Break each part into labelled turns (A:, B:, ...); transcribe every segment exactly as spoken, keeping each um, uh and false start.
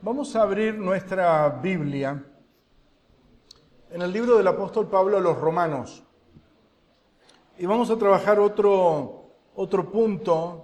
A: Vamos a abrir nuestra Biblia en el libro del apóstol Pablo a los Romanos. Y vamos a trabajar otro, otro punto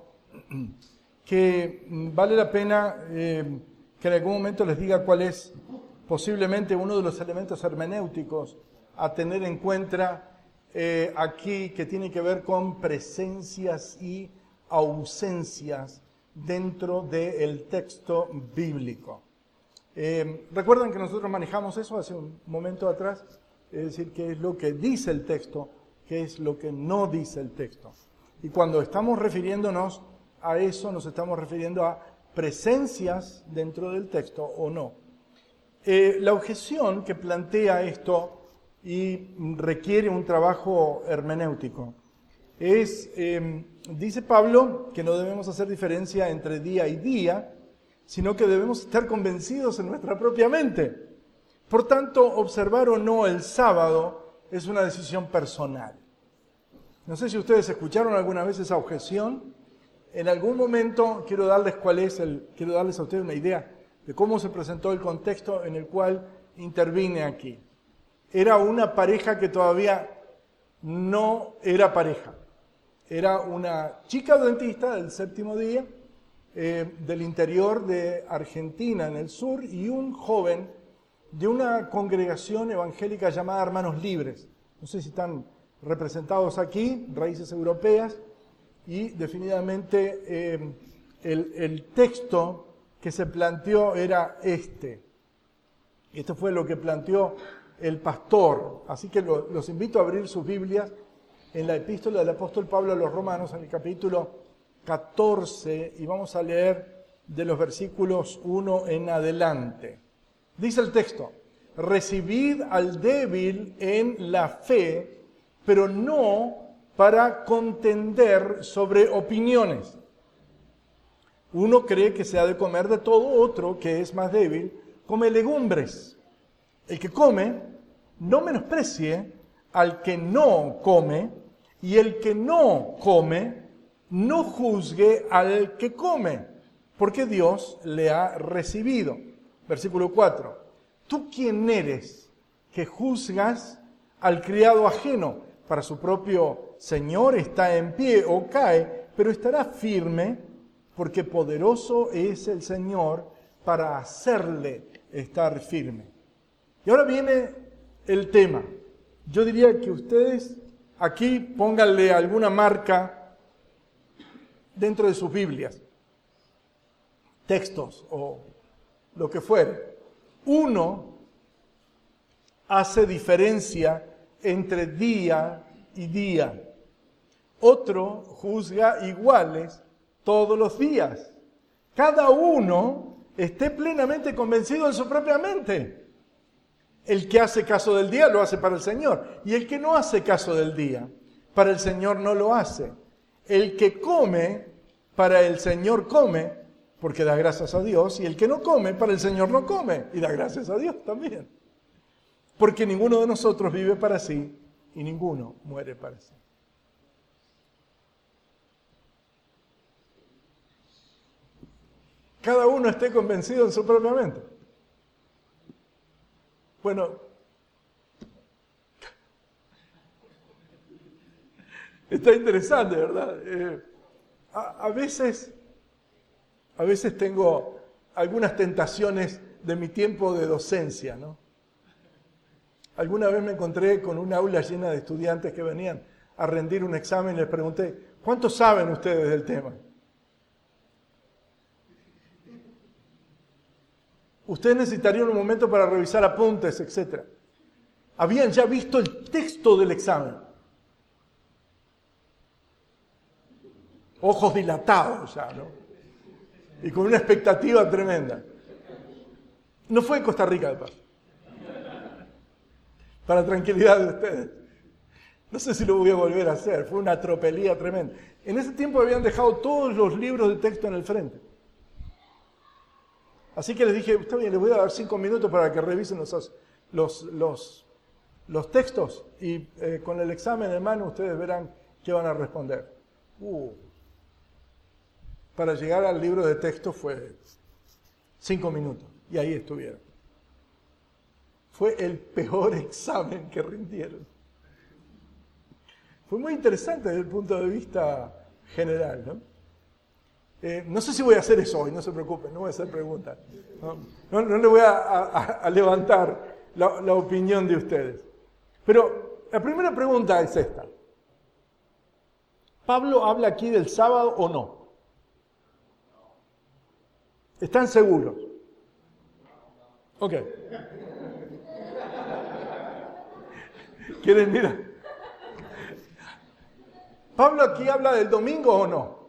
A: que vale la pena eh, que en algún momento les diga cuál es posiblemente uno de los elementos hermenéuticos a tener en cuenta eh, aquí, que tiene que ver con presencias y ausencias dentro del texto bíblico. Eh, ¿Recuerdan que nosotros manejamos eso hace un momento atrás? Es decir, qué es lo que dice el texto, qué es lo que no dice el texto. Y cuando estamos refiriéndonos a eso, nos estamos refiriendo a presencias dentro del texto o no. Eh, la objeción que plantea esto y requiere un trabajo hermenéutico es, eh, dice Pablo, que no debemos hacer diferencia entre día y día, sino que debemos estar convencidos en nuestra propia mente. Por tanto, observar o no el sábado es una decisión personal. No sé si ustedes escucharon alguna vez esa objeción. En algún momento quiero darles cuál es el, quiero darles a ustedes una idea de cómo se presentó el contexto en el cual intervine aquí. Era una pareja que todavía no era pareja. Era una chica dentista del séptimo día, eh, del interior de Argentina, en el sur, y un joven de una congregación evangélica llamada Hermanos Libres. No sé si están representados aquí, raíces europeas, y definitivamente eh, el, el texto que se planteó era este. Esto fue lo que planteó el pastor. Así que lo, los invito a abrir sus Biblias en la epístola del apóstol Pablo a los Romanos, en el capítulo catorce, y vamos a leer de los versículos uno en adelante. Dice el texto: recibid al débil en la fe, pero no para contender sobre opiniones. Uno cree que se ha de comer de todo, otro, que es más débil, come legumbres. El que come, no menosprecie al que no come, y el que no come, no juzgue al que come, porque Dios le ha recibido. Versículo cuatro. ¿Tú quién eres que juzgas al criado ajeno? Para su propio Señor está en pie o cae, pero estará firme, porque poderoso es el Señor para hacerle estar firme. Y ahora viene el tema. Yo diría que ustedes aquí pónganle alguna marca dentro de sus Biblias, textos o lo que fuere. Uno hace diferencia entre día y día. Otro juzga iguales todos los días. Cada uno esté plenamente convencido en su propia mente. El que hace caso del día lo hace para el Señor, y el que no hace caso del día, para el Señor no lo hace. El que come, para el Señor come, porque da gracias a Dios, y el que no come, para el Señor no come, y da gracias a Dios también. Porque ninguno de nosotros vive para sí, y ninguno muere para sí. Cada uno esté convencido en su propia mente. Bueno, está interesante, ¿verdad? Eh, a, a veces, a veces tengo algunas tentaciones de mi tiempo de docencia, ¿no? Alguna vez me encontré con una aula llena de estudiantes que venían a rendir un examen y les pregunté: ¿cuánto saben ustedes del tema? Ustedes necesitarían un momento para revisar apuntes, etcétera. Habían ya visto el texto del examen. Ojos dilatados ya, ¿no? Y con una expectativa tremenda. No fue en Costa Rica, de paso. Para tranquilidad de ustedes. No sé si lo voy a volver a hacer. Fue una tropelía tremenda. En ese tiempo habían dejado todos los libros de texto en el frente. Así que les dije: está bien, les voy a dar cinco minutos para que revisen los, los, los, los textos, y eh, con el examen en mano ustedes verán qué van a responder. Uh, para llegar al libro de texto fue cinco minutos. Y ahí estuvieron. Fue el peor examen que rindieron. Fue muy interesante desde el punto de vista general, ¿no? Eh, no sé si voy a hacer eso hoy, no se preocupen, no voy a hacer preguntas. No, no, no le voy a, a, a levantar la, la opinión de ustedes. Pero la primera pregunta es esta. ¿Pablo habla aquí del sábado o no? ¿Están seguros? Ok. ¿Quieren mirar? ¿Pablo aquí habla del domingo o no?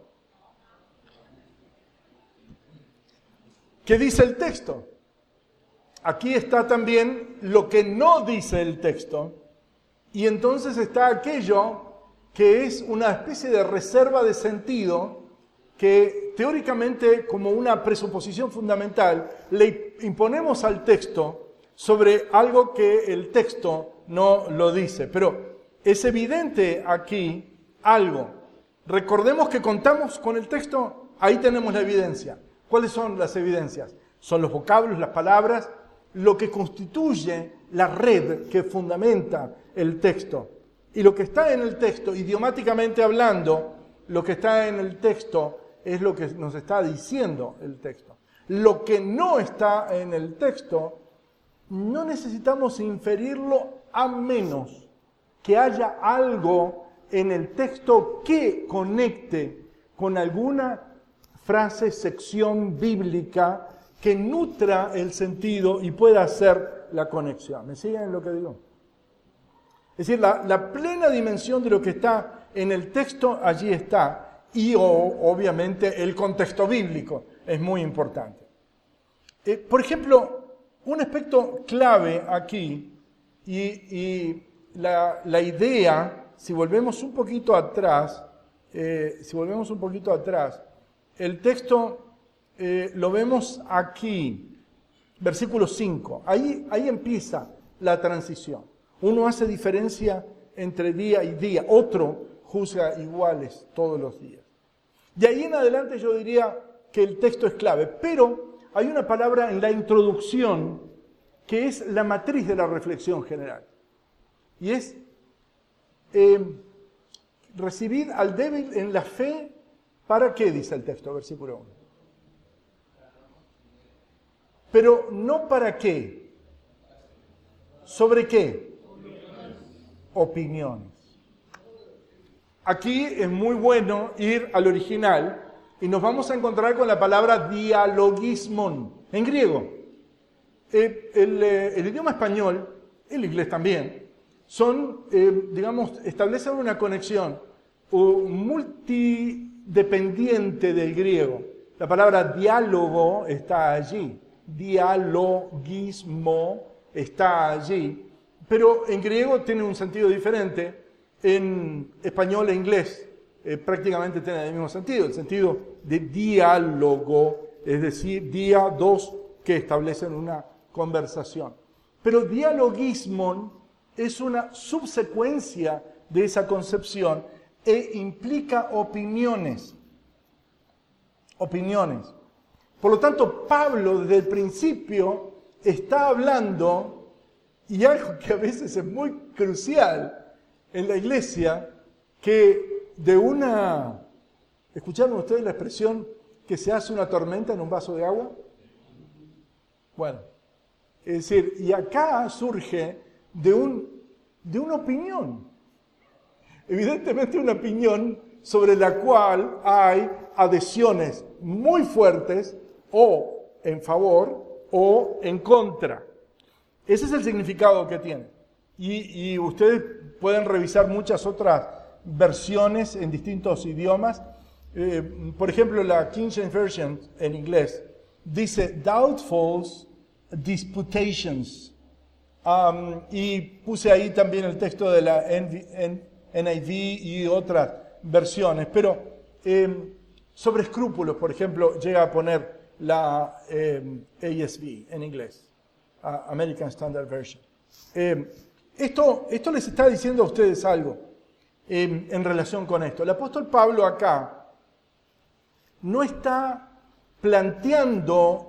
A: ¿Qué dice el texto? Aquí está también lo que no dice el texto, y entonces está aquello que es una especie de reserva de sentido que teóricamente, como una presuposición fundamental, le imponemos al texto sobre algo que el texto no lo dice. Pero es evidente aquí algo. Recordemos que contamos con el texto, ahí tenemos la evidencia. ¿Cuáles son las evidencias? Son los vocablos, las palabras, lo que constituye la red que fundamenta el texto. Y lo que está en el texto, idiomáticamente hablando, lo que está en el texto es lo que nos está diciendo el texto. Lo que no está en el texto, no necesitamos inferirlo a menos que haya algo en el texto que conecte con alguna frase, sección bíblica que nutra el sentido y pueda hacer la conexión. ¿Me siguen en lo que digo? Es decir, la, la plena dimensión de lo que está en el texto allí está, y o, obviamente el contexto bíblico es muy importante. Eh, por ejemplo, un aspecto clave aquí, y, y la, la idea, si volvemos un poquito atrás, eh, si volvemos un poquito atrás, el texto eh, lo vemos aquí, versículo cinco, ahí, ahí empieza la transición. Uno hace diferencia entre día y día, otro juzga iguales todos los días. De ahí en adelante yo diría que el texto es clave, pero hay una palabra en la introducción que es la matriz de la reflexión general. Y es eh, recibid al débil en la fe, ¿para qué? Dice el texto, versículo uno. Pero no para qué. ¿Sobre qué? Opiniones. Aquí es muy bueno ir al original y nos vamos a encontrar con la palabra dialogismon, en griego. El, el, el idioma español, el inglés también, son, eh, digamos, establecen una conexión multidependiente del griego. La palabra diálogo está allí, dialogismo está allí, pero en griego tiene un sentido diferente. En español e inglés eh, prácticamente tiene el mismo sentido, el sentido de diálogo, es decir, día, dos, que establecen una conversación. Pero dialogismon es una subsecuencia de esa concepción e implica opiniones. Opiniones. Por lo tanto, Pablo desde el principio está hablando, y algo que a veces es muy crucial en la iglesia, que de una... ¿Escucharon ustedes la expresión que se hace una tormenta en un vaso de agua? Bueno, es decir, y acá surge de, un, de una opinión. Evidentemente una opinión sobre la cual hay adhesiones muy fuertes o en favor o en contra. Ese es el significado que tiene. Y, y ustedes pueden revisar muchas otras versiones en distintos idiomas. Eh, por ejemplo, la King James Version en inglés dice doubtful disputations. Um, y puse ahí también el texto de la N I V y otras versiones. Pero eh, sobre escrúpulos, por ejemplo, llega a poner la eh, A S V en inglés, uh, American Standard Version. Eh, Esto, esto les está diciendo a ustedes algo eh, en relación con esto. El apóstol Pablo acá no está planteando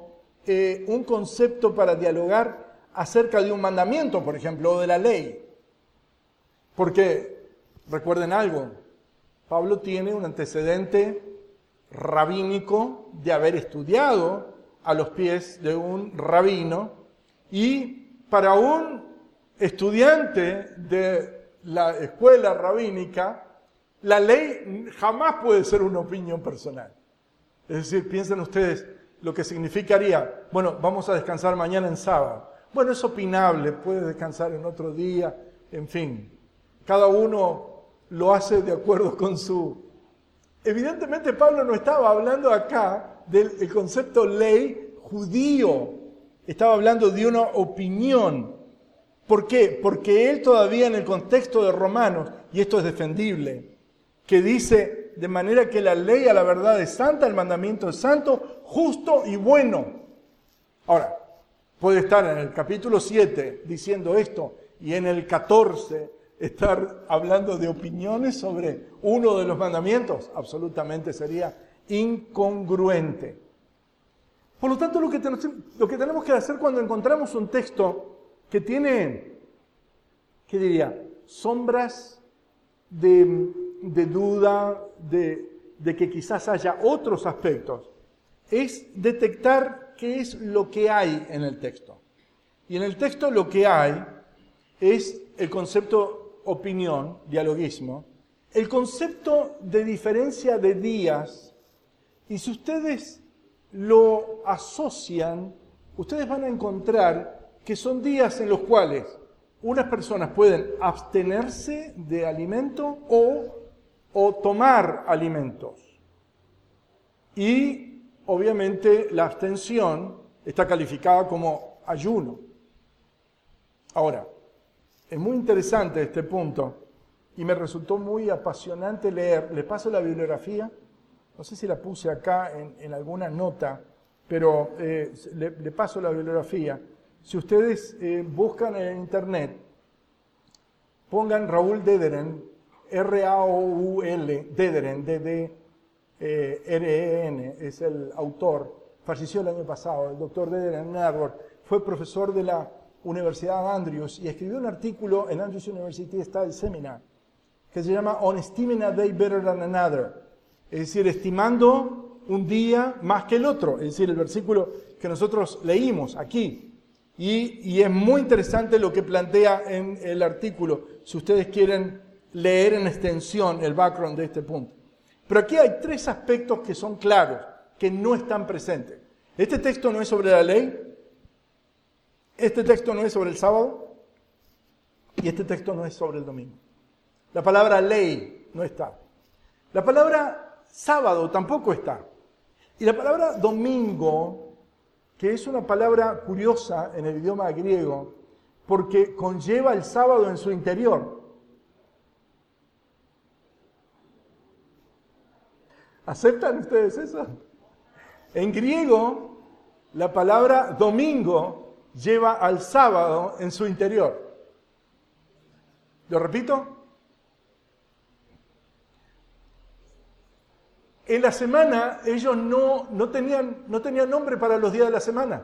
A: eh, un concepto para dialogar acerca de un mandamiento, por ejemplo, o de la ley. Porque, recuerden algo, Pablo tiene un antecedente rabínico de haber estudiado a los pies de un rabino, y para un estudiante de la escuela rabínica, la ley jamás puede ser una opinión personal. Es decir, piensen ustedes lo que significaría, bueno, vamos a descansar mañana en sábado. Bueno, es opinable, puede descansar en otro día, en fin. Cada uno lo hace de acuerdo con su... Evidentemente Pablo no estaba hablando acá del el concepto ley judío. Estaba hablando de una opinión. ¿Por qué? Porque él todavía en el contexto de Romanos, y esto es defendible, que dice de manera que la ley a la verdad es santa, el mandamiento es santo, justo y bueno. Ahora, puede estar en el capítulo siete diciendo esto y en el catorce estar hablando de opiniones sobre uno de los mandamientos. Absolutamente sería incongruente. Por lo tanto, lo que, ten- lo que tenemos que hacer cuando encontramos un texto que tiene, ¿qué diría?, sombras de, de duda, de, de que quizás haya otros aspectos, es detectar qué es lo que hay en el texto. Y en el texto lo que hay es el concepto opinión, dialogismo, el concepto de diferencia de días, y si ustedes lo asocian, ustedes van a encontrar que son días en los cuales unas personas pueden abstenerse de alimento o, o tomar alimentos. Y obviamente la abstención está calificada como ayuno. Ahora, es muy interesante este punto y me resultó muy apasionante leer. Les paso la bibliografía, no sé si la puse acá en, en alguna nota, pero eh, le, le paso la bibliografía. Si ustedes eh, buscan en internet, pongan Raúl Dederen, R A O U L, Dederen, D D R E N, es el autor, falleció el año pasado, el doctor Dederen en Harvard, fue profesor de la Universidad Andrews y escribió un artículo en Andrews University Study Seminar que se llama On Esteeming a Day Better Than Another, es decir, estimando un día más que el otro, es decir, el versículo que nosotros leímos aquí. Y, y es muy interesante lo que plantea en el artículo, si ustedes quieren leer en extensión el background de este punto. Pero aquí hay tres aspectos que son claros, que no están presentes. Este texto no es sobre la ley, este texto no es sobre el sábado, y este texto no es sobre el domingo. La palabra ley no está. La palabra sábado tampoco está. Y la palabra domingo, que es una palabra curiosa en el idioma griego, porque conlleva el sábado en su interior. ¿Aceptan ustedes eso? En griego, la palabra domingo lleva al sábado en su interior. ¿Lo repito? En la semana ellos no, no, tenían, no tenían nombre para los días de la semana.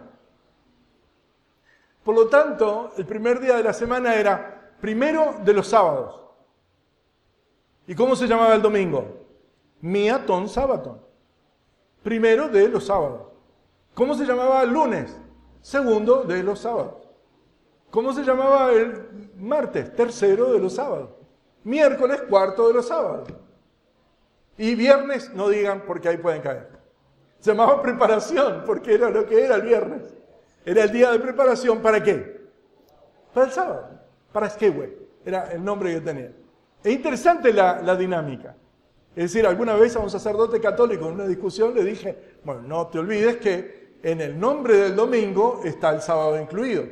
A: Por lo tanto, el primer día de la semana era primero de los sábados. ¿Y cómo se llamaba el domingo? Miaton Sabaton. Primero de los sábados. ¿Cómo se llamaba el lunes? Segundo de los sábados. ¿Cómo se llamaba el martes? Tercero de los sábados. Miércoles, cuarto de los sábados. Y viernes, no digan porque ahí pueden caer. Se llamaba preparación porque era lo que era el viernes. Era el día de preparación, ¿para qué? Para el sábado. Para Skeway. Era el nombre que tenía. Es interesante la, la dinámica. Es decir, alguna vez a un sacerdote católico en una discusión le dije, bueno, no te olvides que en el nombre del domingo está el sábado incluido.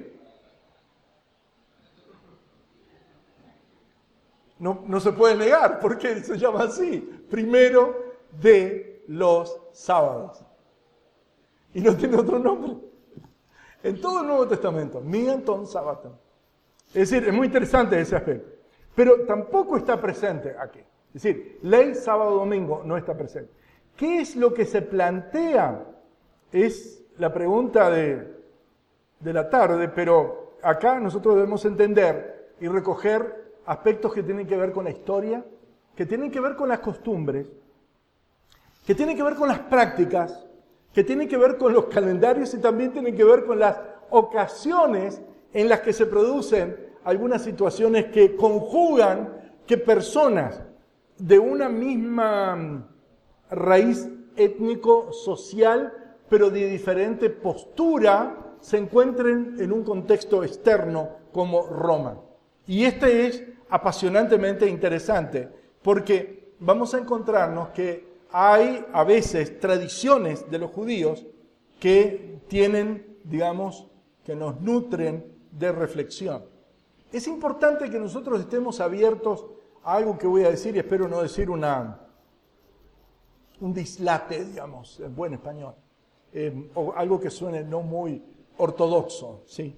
A: No, no se puede negar, porque se llama así, primero de los sábados. Y no tiene otro nombre. En todo el Nuevo Testamento, Miaton Sabaton. Es decir, es muy interesante ese aspecto. Pero tampoco está presente aquí. Es decir, ley, sábado, domingo no está presente. ¿Qué es lo que se plantea? Es la pregunta de, de la tarde, pero acá nosotros debemos entender y recoger aspectos que tienen que ver con la historia, que tienen que ver con las costumbres, que tienen que ver con las prácticas, que tienen que ver con los calendarios y también tienen que ver con las ocasiones en las que se producen algunas situaciones que conjugan que personas de una misma raíz étnico-social, pero de diferente postura, se encuentren en un contexto externo como Roma. Y este es apasionantemente interesante, porque vamos a encontrarnos que hay a veces tradiciones de los judíos que tienen, digamos, que nos nutren de reflexión. Es importante que nosotros estemos abiertos a algo que voy a decir, y espero no decir una, un dislate, digamos, en buen español, eh, o algo que suene no muy ortodoxo, ¿sí?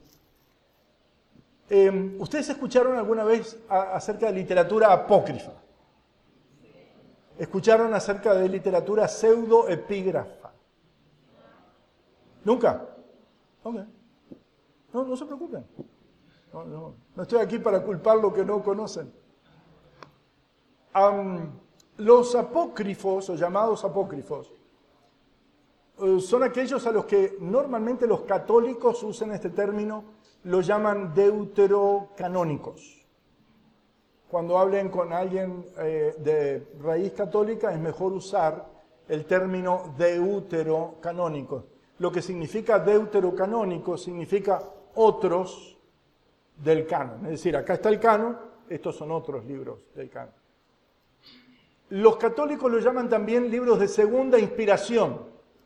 A: Eh, ¿Ustedes escucharon alguna vez a, acerca de literatura apócrifa? ¿Escucharon acerca de literatura pseudoepígrafa? ¿Nunca? Ok. No, no se preocupen. No, no, no estoy aquí para culpar lo que no conocen. Um, los apócrifos, o llamados apócrifos, uh, son aquellos a los que normalmente los católicos usan este término, lo llaman deuterocanónicos. Cuando hablen con alguien eh, de raíz católica es mejor usar el término deuterocanónicos. Lo que significa deuterocanónico significa otros del canon. Es decir, acá está el canon, estos son otros libros del canon. Los católicos lo llaman también libros de segunda inspiración.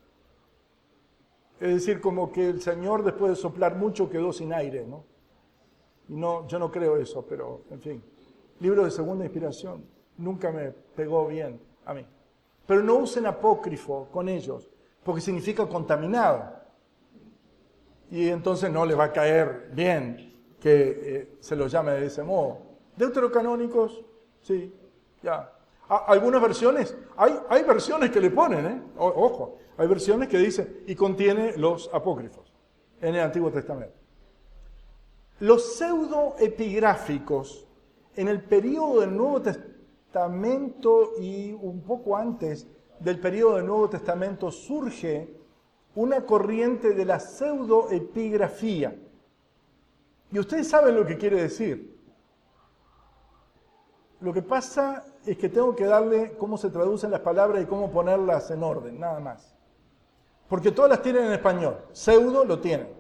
A: Es decir, como que el Señor después de soplar mucho quedó sin aire, ¿no? Y no, yo no creo eso, pero en fin. Libros de segunda inspiración nunca me pegó bien a mí. Pero no usen apócrifo con ellos, porque significa contaminado. Y entonces no les va a caer bien que eh, se los llame de ese modo. Deuterocanónicos, sí, ya. A, algunas versiones, hay, hay versiones que le ponen, ¿eh? O, ojo, hay versiones que dicen, y contiene los apócrifos en el Antiguo Testamento. Los pseudoepigráficos, en el periodo del Nuevo Testamento y un poco antes del periodo del Nuevo Testamento, surge una corriente de la pseudoepigrafía. Y ustedes saben lo que quiere decir. Lo que pasa es que tengo que darle cómo se traducen las palabras y cómo ponerlas en orden, nada más. Porque todas las tienen en español. Pseudo lo tienen.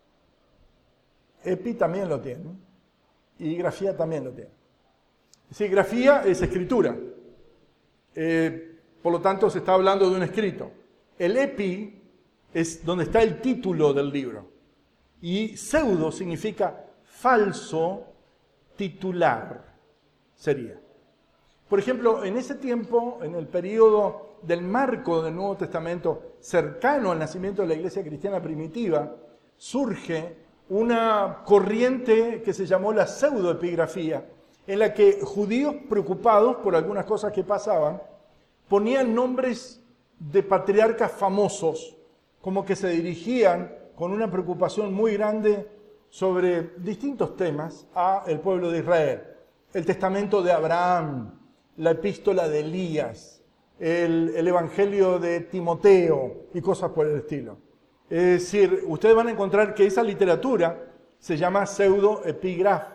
A: Epi también lo tienen. Y grafía también lo tienen. Sí, grafía es escritura. Eh, por lo tanto, se está hablando de un escrito. El epi es donde está el título del libro. Y pseudo significa falso titular, sería. Por ejemplo, en ese tiempo, en el periodo del marco del Nuevo Testamento, cercano al nacimiento de la iglesia cristiana primitiva, surge una corriente que se llamó la pseudoepigrafía, en la que judíos preocupados por algunas cosas que pasaban, ponían nombres de patriarcas famosos, como que se dirigían con una preocupación muy grande sobre distintos temas a el pueblo de Israel. El testamento de Abraham, la epístola de Elías, el, el evangelio de Timoteo y cosas por el estilo. Es decir, ustedes van a encontrar que esa literatura se llama pseudoepigrafía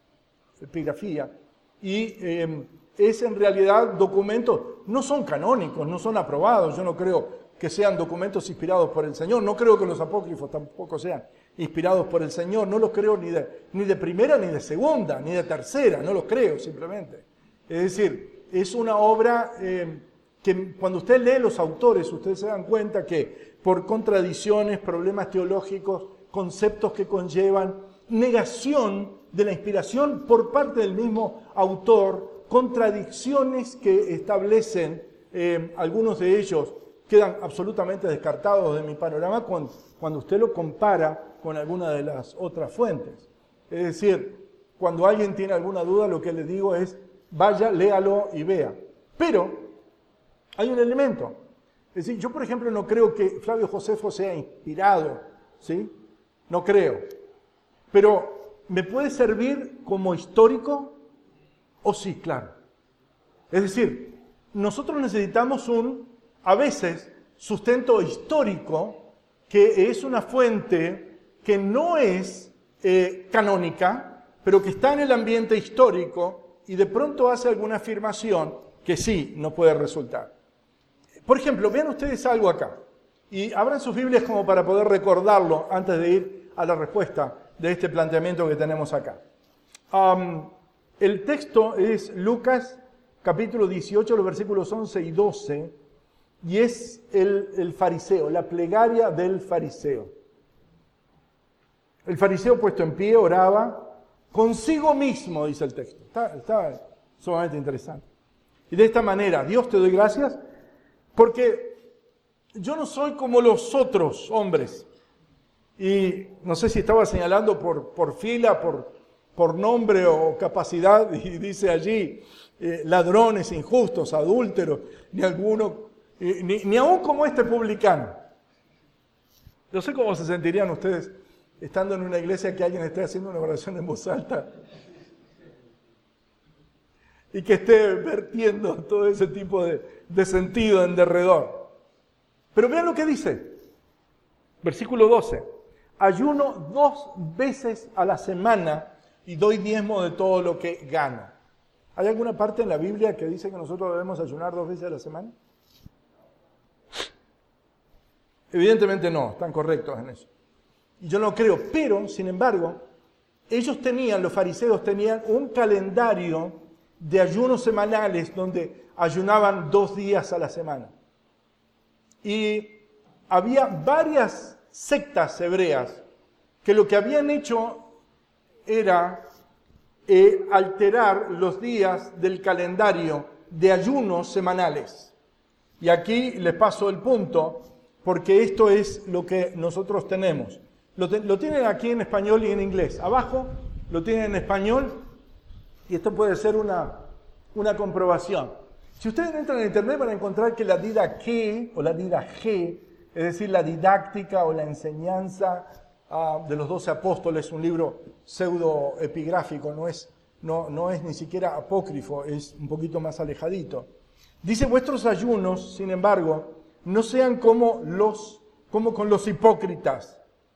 A: y eh, es en realidad documentos, no son canónicos, no son aprobados, yo no creo que sean documentos inspirados por el Señor, no creo que los apócrifos tampoco sean inspirados por el Señor, no los creo ni de, ni de primera, ni de segunda, ni de tercera, no los creo simplemente. Es decir, es una obra eh, que cuando usted lee los autores, ustedes se dan cuenta que por contradicciones, problemas teológicos, conceptos que conllevan, negación de la inspiración por parte del mismo autor, contradicciones que establecen, eh, algunos de ellos quedan absolutamente descartados de mi panorama cuando, cuando usted lo compara con alguna de las otras fuentes. Es decir, cuando alguien tiene alguna duda, lo que le digo es, vaya, léalo y vea. Pero hay un elemento. Es decir, yo por ejemplo no creo que Flavio Josefo sea inspirado, ¿sí? No creo. Pero, ¿me puede servir como histórico? Oh sí, claro. Es decir, nosotros necesitamos un, a veces, sustento histórico, que es una fuente que no es eh, canónica, pero que está en el ambiente histórico y de pronto hace alguna afirmación que sí nos puede resultar. Por ejemplo, vean ustedes algo acá y abran sus Biblias como para poder recordarlo antes de ir a la respuesta de este planteamiento que tenemos acá. Um, el texto es Lucas capítulo dieciocho, los versículos once y doce, y es el, el fariseo, la plegaria del fariseo. El fariseo puesto en pie oraba consigo mismo, dice el texto. Está, está sumamente interesante. Y de esta manera, Dios, te doy gracias porque yo no soy como los otros hombres. Y no sé si estaba señalando por, por fila, por, por nombre o capacidad, y dice allí eh, ladrones, injustos, adúlteros, ni alguno... Ni, ni aún como este publicano. Yo sé cómo se sentirían ustedes estando en una iglesia que alguien esté haciendo una oración en voz alta y que esté vertiendo todo ese tipo de, de sentido en derredor. Pero vean lo que dice. Versículo doce. Ayuno dos veces a la semana y doy diezmo de todo lo que gano. ¿Hay alguna parte en la Biblia que dice que nosotros debemos ayunar dos veces a la semana? Evidentemente no, están correctos en eso. Y yo no creo, pero, sin embargo, ellos tenían, los fariseos tenían un calendario de ayunos semanales donde ayunaban dos días a la semana. Y había varias sectas hebreas que lo que habían hecho era eh, alterar los días del calendario de ayunos semanales. Y aquí les paso el punto, porque esto es lo que nosotros tenemos. Lo, te, lo tienen aquí en español y en inglés. Abajo lo tienen en español y esto puede ser una, una comprobación. Si ustedes entran en internet van a encontrar que la didaqué o la didagé, es decir, la didáctica o la enseñanza uh, de los doce apóstoles, un libro pseudo-epigráfico, no es, no, no es ni siquiera apócrifo, es un poquito más alejadito. Dice, vuestros ayunos, sin embargo, no sean como, los, como con los hipócritas,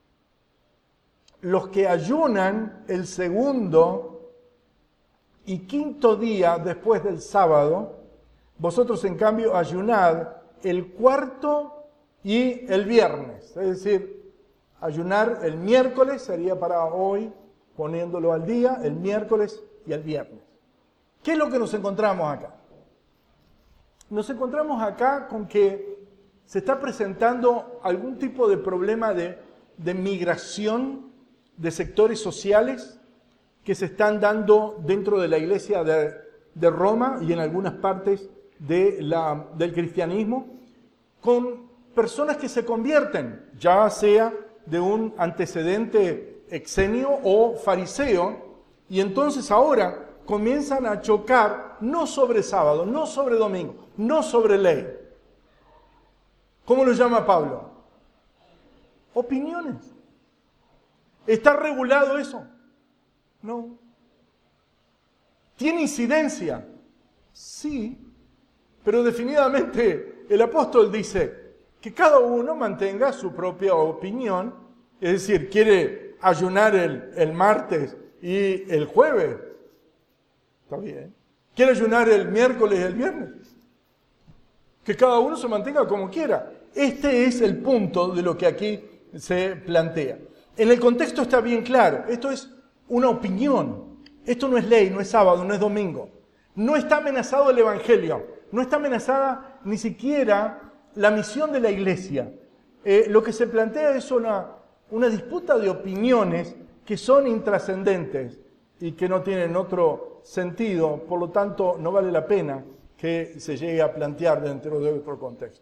A: los que ayunan el segundo y quinto día después del sábado. Vosotros, en cambio, ayunad el cuarto y el viernes. Es decir, ayunar el miércoles sería para hoy, poniéndolo al día, el miércoles y el viernes. ¿Qué es lo que nos encontramos acá? Nos encontramos acá con que se está presentando algún tipo de problema de, de migración de sectores sociales que se están dando dentro de la iglesia de, de Roma y en algunas partes de la, del cristianismo, con personas que se convierten, ya sea de un antecedente exenio o fariseo, y entonces ahora comienzan a chocar no sobre sábado, no sobre domingo, no sobre ley. ¿Cómo lo llama Pablo? Opiniones. ¿Está regulado eso? No. ¿Tiene incidencia? Sí. Pero definitivamente el apóstol dice que cada uno mantenga su propia opinión. Es decir, quiere ayunar el, el martes y el jueves. Está bien. Quiere ayunar el miércoles y el viernes. Que cada uno se mantenga como quiera. Este es el punto de lo que aquí se plantea. En el contexto está bien claro. Esto es una opinión. Esto no es ley, no es sábado, no es domingo. No está amenazado el evangelio. No está amenazada ni siquiera la misión de la iglesia. Eh, lo que se plantea es una, una disputa de opiniones que son intrascendentes y que no tienen otro sentido. Por lo tanto, no vale la pena que se llegue a plantear dentro de otro contexto.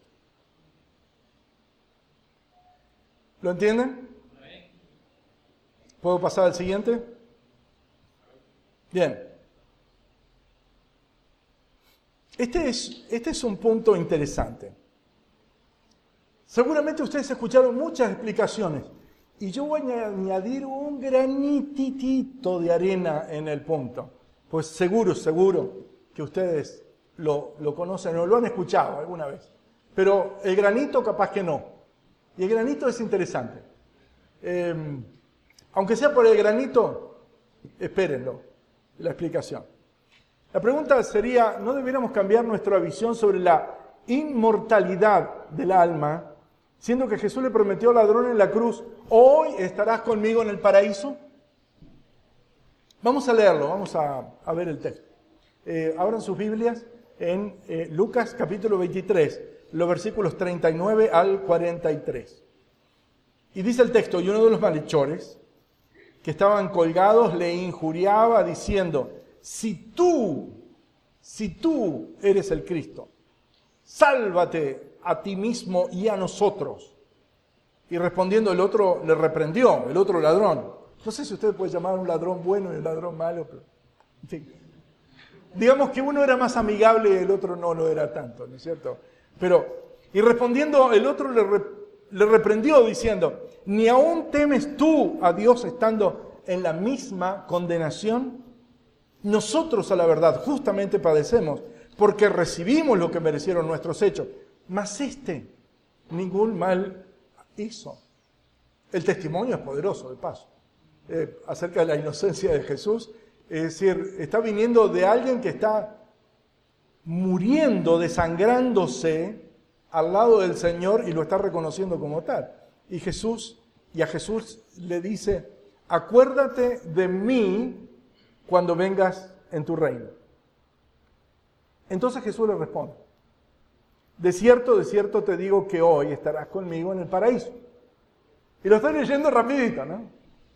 A: ¿Lo entienden? ¿Puedo pasar al siguiente? Bien. Este es, este es un punto interesante. Seguramente ustedes escucharon muchas explicaciones y yo voy a añadir un granitito de arena en el punto. Pues seguro, seguro que ustedes lo, lo conocen o lo han escuchado alguna vez. Pero el granito capaz que no. Y el granito es interesante. Eh, aunque sea por el granito, espérenlo, la explicación. La pregunta sería, ¿no debiéramos cambiar nuestra visión sobre la inmortalidad del alma, siendo que Jesús le prometió al ladrón en la cruz, hoy estarás conmigo en el paraíso? Vamos a leerlo, vamos a, a ver el texto. Eh, abran sus Biblias en eh, Lucas capítulo veintitrés, los versículos treinta y nueve al cuarenta y tres. Y dice el texto, y uno de los malhechores que estaban colgados le injuriaba diciendo, si tú, si tú eres el Cristo, sálvate a ti mismo y a nosotros. Y respondiendo el otro le reprendió, el otro ladrón. No sé si usted puede llamar a un ladrón bueno y un ladrón malo, pero en fin. Digamos que uno era más amigable y el otro no lo era tanto, ¿no es cierto? Pero, y respondiendo el otro le, re, le reprendió diciendo, ¿ni aún temes tú a Dios estando en la misma condenación? Nosotros a la verdad justamente padecemos, porque recibimos lo que merecieron nuestros hechos, mas este ningún mal hizo. El testimonio es poderoso, de paso, eh, acerca de la inocencia de Jesús. Es decir, está viniendo de alguien que está muriendo, desangrándose al lado del Señor y lo está reconociendo como tal. Y Jesús, y a Jesús le dice, acuérdate de mí cuando vengas en tu reino. Entonces Jesús le responde, de cierto, de cierto te digo que hoy estarás conmigo en el paraíso. Y lo estoy leyendo rapidito, ¿no?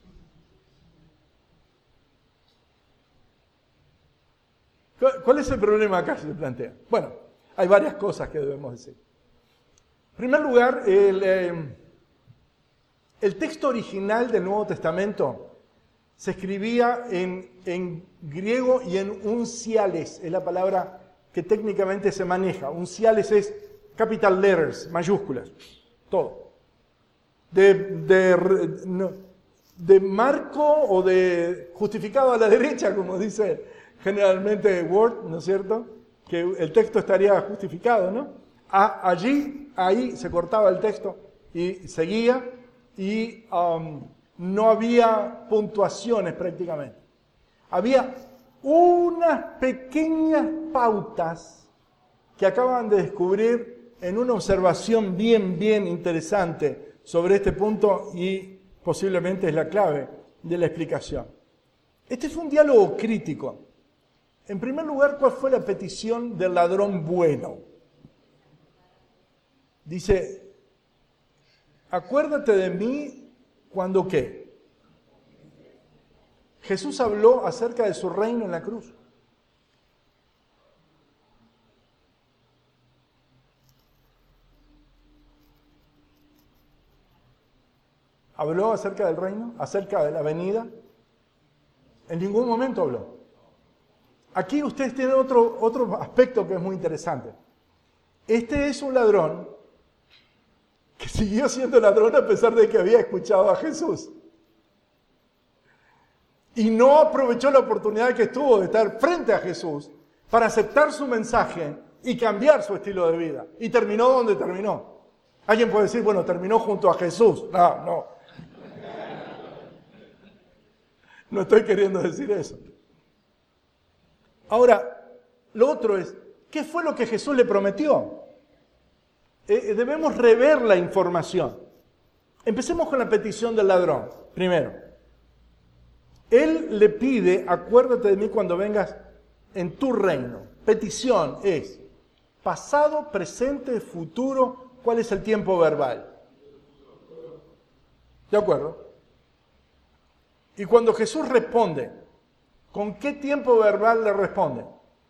A: ¿Cuál es el problema acá que se plantea? Bueno, hay varias cosas que debemos decir. En primer lugar, el, eh, el texto original del Nuevo Testamento se escribía en, en griego y en unciales, es la palabra que técnicamente se maneja. Unciales es capital letters, mayúsculas, todo. De, de, no, de marco o de justificado a la derecha, como dice generalmente Word, ¿no es cierto? Que el texto estaría justificado, ¿no? A, allí, ahí se cortaba el texto y seguía y um, no había puntuaciones prácticamente. Había unas pequeñas pautas que acaban de descubrir en una observación bien, bien interesante sobre este punto y posiblemente es la clave de la explicación. Este fue un diálogo crítico. En primer lugar, ¿cuál fue la petición del ladrón bueno? Dice, acuérdate de mí cuando ¿qué? Jesús habló acerca de su reino en la cruz. ¿Habló acerca del reino? ¿Acerca de la venida? En ningún momento habló. Aquí ustedes tienen otro, otro aspecto que es muy interesante. Este es un ladrón que siguió siendo ladrón a pesar de que había escuchado a Jesús. Y no aprovechó la oportunidad que tuvo de estar frente a Jesús para aceptar su mensaje y cambiar su estilo de vida. Y terminó donde terminó. Alguien puede decir, bueno, terminó junto a Jesús. No, no. No estoy queriendo decir eso. Ahora, lo otro es, ¿qué fue lo que Jesús le prometió? Eh, debemos rever la información. Empecemos con la petición del ladrón, primero. Él le pide, acuérdate de mí cuando vengas en tu reino. Petición es pasado, presente, futuro. ¿Cuál es el tiempo verbal? ¿De acuerdo? Y cuando Jesús responde, ¿con qué tiempo verbal le responde?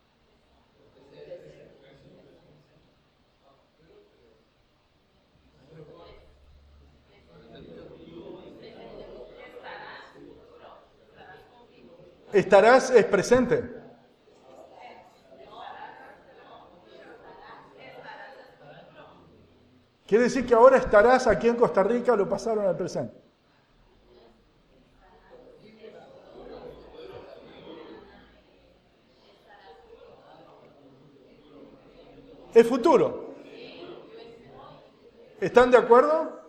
A: Estarás es presente. Quiere decir que ahora estarás aquí en Costa Rica, lo pasaron al presente. Es futuro. ¿Están de acuerdo?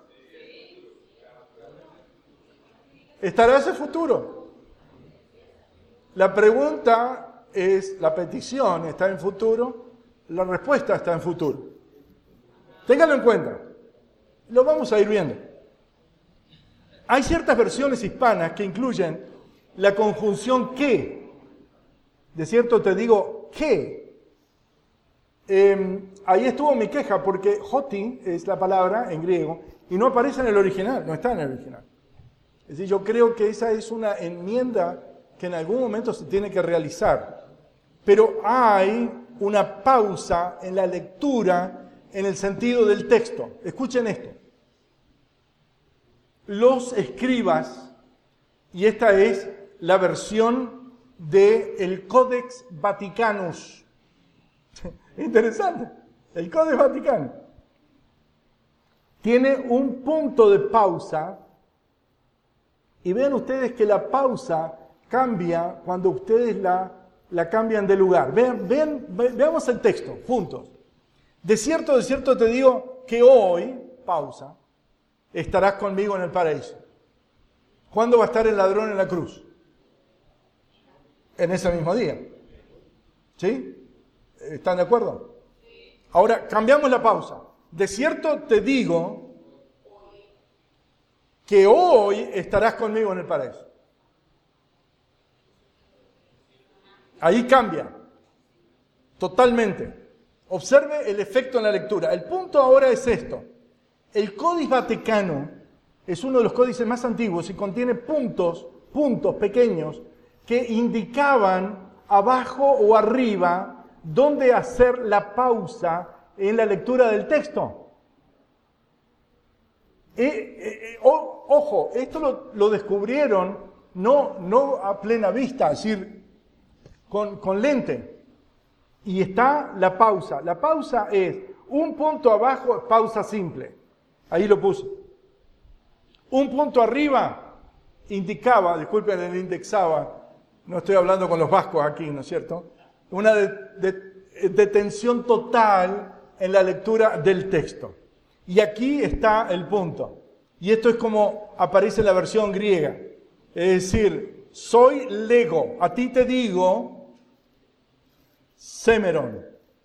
A: Estarás en futuro. La pregunta es, la petición está en futuro, la respuesta está en futuro. Ténganlo en cuenta. Lo vamos a ir viendo. Hay ciertas versiones hispanas que incluyen la conjunción que. De cierto te digo que. Eh, ahí estuvo mi queja porque hoti es la palabra en griego y no aparece en el original, no está en el original. Es decir, yo creo que esa es una enmienda que en algún momento se tiene que realizar. Pero hay una pausa en la lectura en el sentido del texto. Escuchen esto. Los escribas, y esta es la versión del Codex Vaticanus. Interesante. El Codex Vaticano tiene un punto de pausa. Y vean ustedes que la pausa cambia cuando ustedes la, la cambian de lugar. Vean, vean, ve, veamos el texto, juntos. De cierto, de cierto te digo que hoy, pausa, estarás conmigo en el paraíso. ¿Cuándo va a estar el ladrón en la cruz? En ese mismo día. ¿Sí? ¿Están de acuerdo? Ahora, cambiamos la pausa. De cierto te digo que hoy estarás conmigo en el paraíso. Ahí cambia. Totalmente. Observe el efecto en la lectura. El punto ahora es esto. El Códice Vaticano es uno de los códices más antiguos y contiene puntos, puntos pequeños que indicaban abajo o arriba dónde hacer la pausa en la lectura del texto. Eh, eh, oh, ojo, esto lo, lo descubrieron no, no a plena vista, es decir, con, con lente. Y está la pausa. La pausa es un punto abajo, pausa simple. Ahí lo puse. Un punto arriba indicaba, disculpen, el indexaba, no estoy hablando con los vascos aquí, ¿no es cierto? Una de, de, detención total en la lectura del texto. Y aquí está el punto. Y esto es como aparece en la versión griega. Es decir, soy lego, a ti te digo, semeron.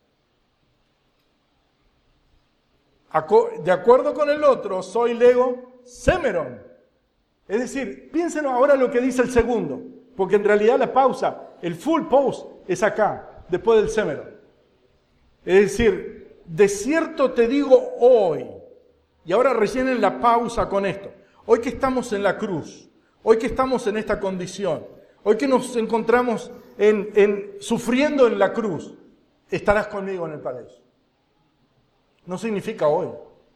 A: De acuerdo con el otro, soy lego, semeron. Es decir, piensen ahora lo que dice el segundo, porque en realidad la pausa, el full pause es acá, después del semeron. Es decir, de cierto te digo hoy. Y ahora rellenen la pausa con esto. Hoy que estamos en la cruz, hoy que estamos en esta condición, hoy que nos encontramos en, en, sufriendo en la cruz, estarás conmigo en el paraíso. No significa hoy.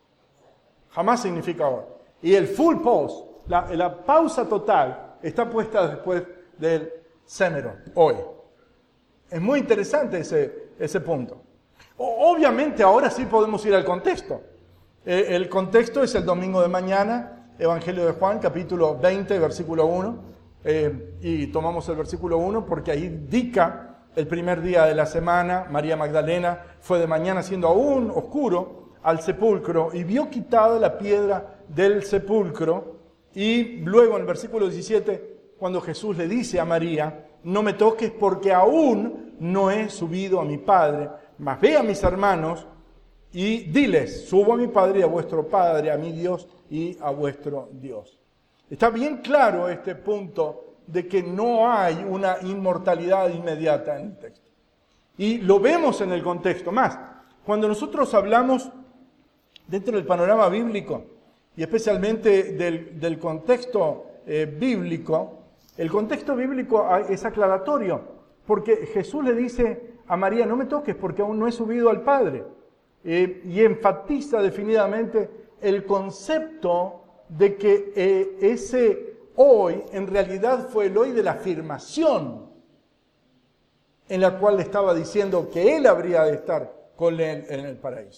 A: Jamás significa hoy. Y el full pause, la, la pausa total, está puesta después del semeron, hoy. Es muy interesante ese, ese punto. O, obviamente ahora sí podemos ir al contexto. Eh, el contexto es el domingo de mañana, Evangelio de Juan, capítulo veinte, versículo uno. Eh, y tomamos el versículo uno porque ahí indica el primer día de la semana. María Magdalena fue de mañana siendo aún oscuro al sepulcro y vio quitada la piedra del sepulcro. Y luego en el versículo diecisiete, cuando Jesús le dice a María, no me toques porque aún no he subido a mi Padre, mas ve a mis hermanos y diles, subo a mi Padre y a vuestro Padre, a mi Dios y a vuestro Dios. Está bien claro este punto de que no hay una inmortalidad inmediata en el texto. Y lo vemos en el contexto. Más, cuando nosotros hablamos dentro del panorama bíblico, y especialmente del, del contexto eh, bíblico, el contexto bíblico es aclaratorio, porque Jesús le dice a María, no me toques porque aún no he subido al Padre. Eh, y enfatiza definidamente el concepto de que eh, ese hoy en realidad fue el hoy de la afirmación en la cual le estaba diciendo que él habría de estar con él en el paraíso.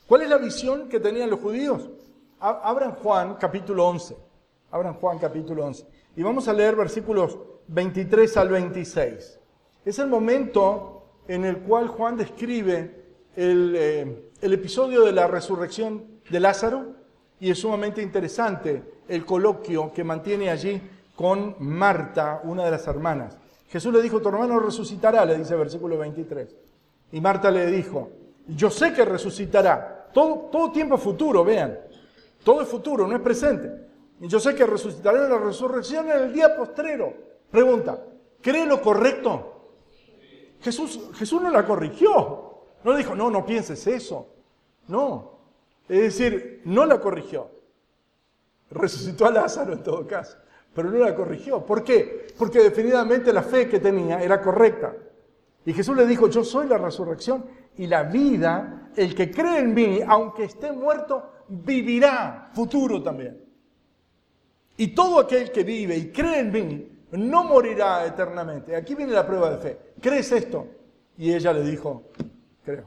A: ¿Cuál es la visión que tenían los judíos? Abran Juan capítulo once. Abran Juan capítulo once. Y vamos a leer versículos veintitrés al veintiséis. Es el momento en el cual Juan describe el, eh, el episodio de la resurrección de Lázaro, y es sumamente interesante el coloquio que mantiene allí con Marta, una de las hermanas. Jesús le dijo, tu hermano resucitará, le dice el versículo veintitrés. Y Marta le dijo, yo sé que resucitará. Todo, todo tiempo es futuro, vean. Todo es futuro, no es presente. Y yo sé que resucitará en la resurrección en el día postrero. Pregunta, ¿cree lo correcto? Jesús, Jesús no la corrigió. No le dijo, no, no pienses eso. No. Es decir, no la corrigió. Resucitó a Lázaro en todo caso, pero no la corrigió. ¿Por qué? Porque definitivamente la fe que tenía era correcta. Y Jesús le dijo, yo soy la resurrección y la vida. El que cree en mí, aunque esté muerto, vivirá. Futuro también. Y todo aquel que vive y cree en mí, no morirá eternamente. Aquí viene la prueba de fe. ¿Crees esto? Y ella le dijo, creo.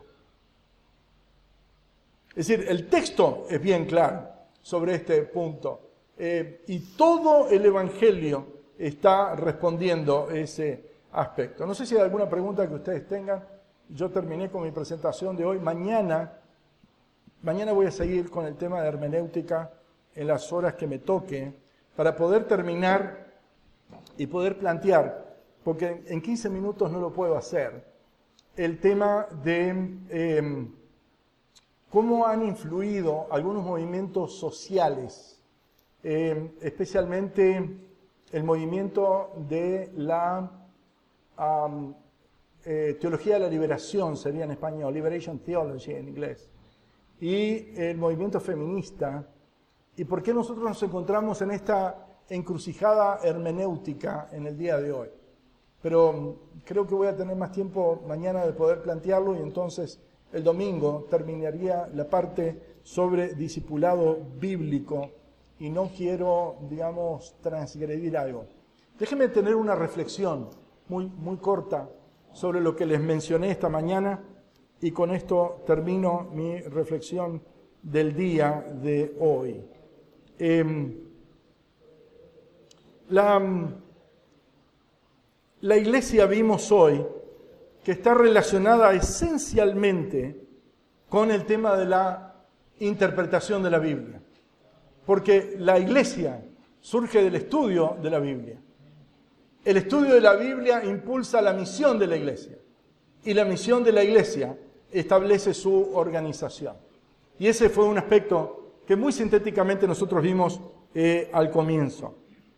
A: Es decir, el texto es bien claro sobre este punto. Eh, y todo el Evangelio está respondiendo ese aspecto. No sé si hay alguna pregunta que ustedes tengan. Yo terminé con mi presentación de hoy. Mañana, mañana voy a seguir con el tema de hermenéutica en las horas que me toque para poder terminar y poder plantear, porque en quince minutos no lo puedo hacer, el tema de eh, cómo han influido algunos movimientos sociales, eh, especialmente el movimiento de la um, eh, teología de la liberación, sería en español, Liberation Theology en inglés, y el movimiento feminista, y por qué nosotros nos encontramos en esta encrucijada hermenéutica en el día de hoy. Pero creo que voy a tener más tiempo mañana de poder plantearlo, y entonces el domingo terminaría la parte sobre discipulado bíblico, y no quiero, digamos, transgredir algo. Déjenme tener una reflexión muy, muy corta sobre lo que les mencioné esta mañana, y con esto termino mi reflexión del día de hoy. Eh, la, la iglesia vimos hoy que está relacionada esencialmente con el tema de la interpretación de la Biblia. Porque la iglesia surge del estudio de la Biblia. El estudio de la Biblia impulsa la misión de la iglesia. Y la misión de la iglesia establece su organización. Y ese fue un aspecto que muy sintéticamente nosotros vimos eh, al comienzo.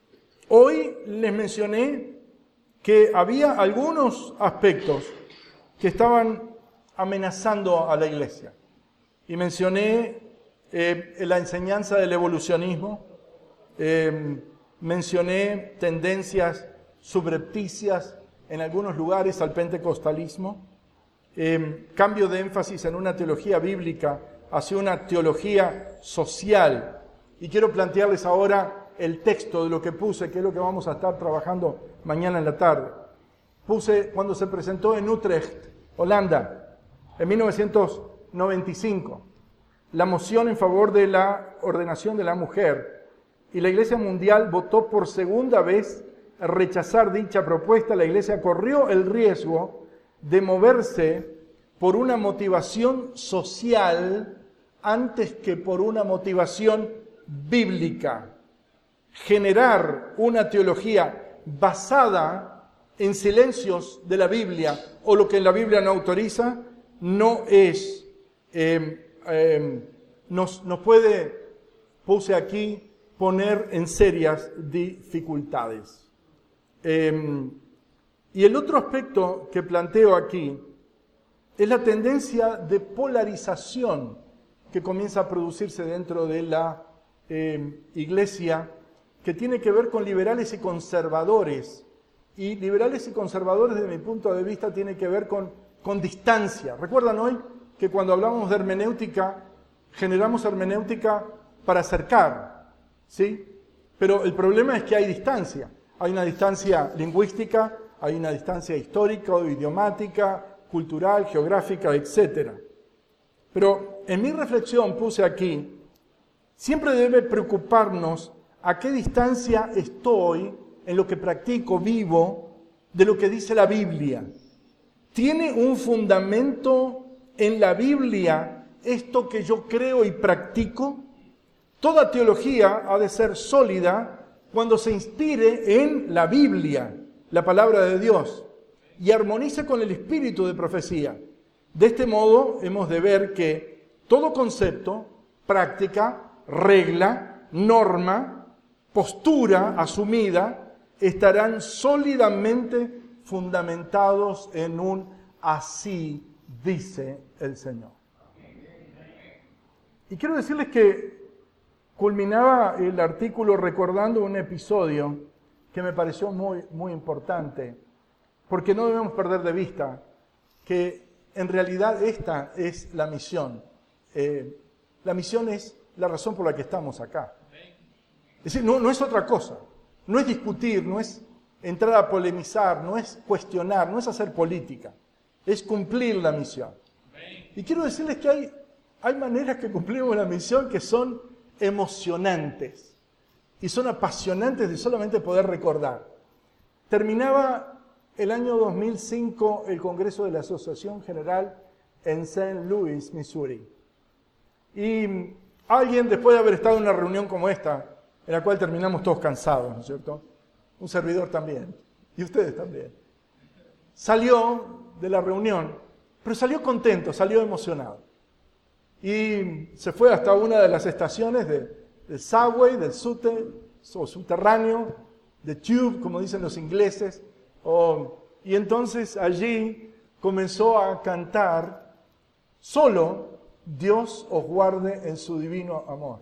A: Hoy les mencioné que había algunos aspectos que estaban amenazando a la iglesia. Y mencioné eh, la enseñanza del evolucionismo, eh, mencioné tendencias subrepticias en algunos lugares al pentecostalismo, eh, cambio de énfasis en una teología bíblica hacia una teología social. Y quiero plantearles ahora el texto de lo que puse, que es lo que vamos a estar trabajando mañana en la tarde. Puse cuando se presentó en Utrecht, Holanda, en mil novecientos noventa y cinco, la moción en favor de la ordenación de la mujer, y la Iglesia Mundial votó por segunda vez a rechazar dicha propuesta. La Iglesia corrió el riesgo de moverse por una motivación social antes que por una motivación bíblica. Generar una teología basada en silencios de la Biblia o lo que la Biblia no autoriza no es, eh, eh, nos, nos puede, puse aquí, poner en serias dificultades. Eh, y el otro aspecto que planteo aquí es la tendencia de polarización que comienza a producirse dentro de la eh, iglesia, que tiene que ver con liberales y conservadores. Y liberales y conservadores, desde mi punto de vista, tiene que ver con, con distancia. ¿Recuerdan hoy que cuando hablamos de hermenéutica, generamos hermenéutica para acercar? ¿Sí? Pero el problema es que hay distancia. Hay una distancia lingüística, hay una distancia histórica o idiomática, cultural, geográfica, etcétera. Pero en mi reflexión puse aquí, siempre debe preocuparnos a qué distancia estoy en lo que practico, vivo, de lo que dice la Biblia. ¿Tiene un fundamento en la Biblia esto que yo creo y practico? Toda teología ha de ser sólida cuando se inspire en la Biblia, la palabra de Dios, y armonice con el espíritu de profecía. De este modo hemos de ver que todo concepto, práctica, regla, norma, postura asumida, estarán sólidamente fundamentados en un así dice el Señor. Y quiero decirles que culminaba el artículo recordando un episodio que me pareció muy, muy importante, porque no debemos perder de vista que en realidad esta es la misión. Eh, la misión es la razón por la que estamos acá. Es decir, no, no es otra cosa. No es discutir, no es entrar a polemizar, no es cuestionar, no es hacer política. Es cumplir la misión. Y quiero decirles que hay, hay maneras que cumplimos la misión que son emocionantes y son apasionantes de solamente poder recordar. Terminaba el año dos mil cinco el Congreso de la Asociación General en Saint Louis, Missouri. Y alguien, después de haber estado en una reunión como esta, en la cual terminamos todos cansados, ¿no es cierto? Un servidor también, y ustedes también. Salió de la reunión, pero salió contento, salió emocionado. Y se fue hasta una de las estaciones de, del subway, del subte, o subterráneo, de tube, como dicen los ingleses. Oh, y entonces allí comenzó a cantar solo Dios os guarde en su divino amor.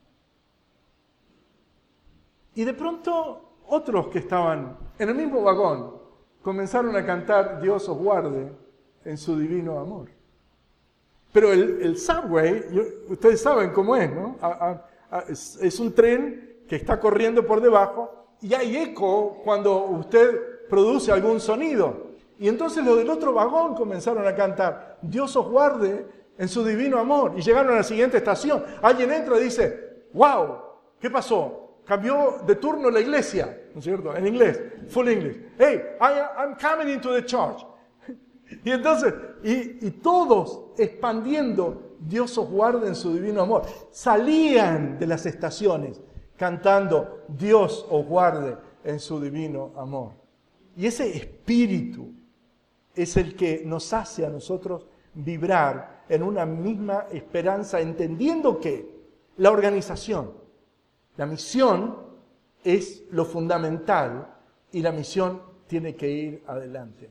A: Y de pronto otros que estaban en el mismo vagón comenzaron a cantar Dios os guarde en su divino amor. Pero el, el subway, yo, ustedes saben cómo es, ¿no? A, a, a, es, es un tren que está corriendo por debajo y hay eco cuando usted produce algún sonido. Y entonces los del otro vagón comenzaron a cantar Dios os guarde en su divino amor. Y llegaron a la siguiente estación. Alguien entra y dice, wow, ¿qué pasó? Cambió de turno la iglesia, ¿no es cierto? En inglés, full English. Hey, I, I'm coming into the church. Y entonces, y, y todos expandiendo Dios os guarde en su divino amor. Salían de las estaciones cantando Dios os guarde en su divino amor. Y ese espíritu es el que nos hace a nosotros vibrar en una misma esperanza, entendiendo que la organización, la misión es lo fundamental y la misión tiene que ir adelante.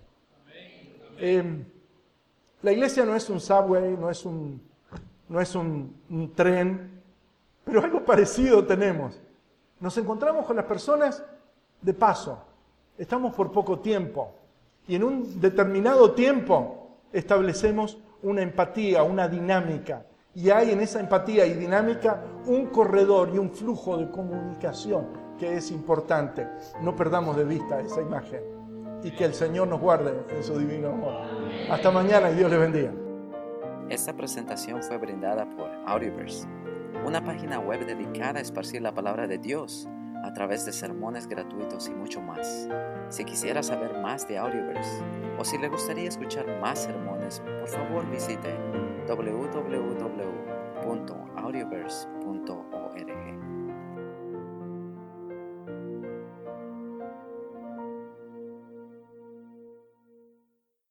A: Eh, la iglesia no es un subway, no es un, no es un, un tren, pero algo parecido tenemos. Nos encontramos con las personas de paso. Estamos por poco tiempo y en un determinado tiempo establecemos una empatía, una dinámica. Y hay en esa empatía y dinámica un corredor y un flujo de comunicación que es importante. No perdamos de vista esa imagen y que el Señor nos guarde en su divino amor. Hasta mañana y Dios les bendiga.
B: Esta presentación fue brindada por Audioverse, una página web dedicada a esparcir la palabra de Dios a través de sermones gratuitos y mucho más. Si quisiera saber más de Audioverse o si le gustaría escuchar más sermones, por favor visite doble u doble u doble u punto audioverse punto org.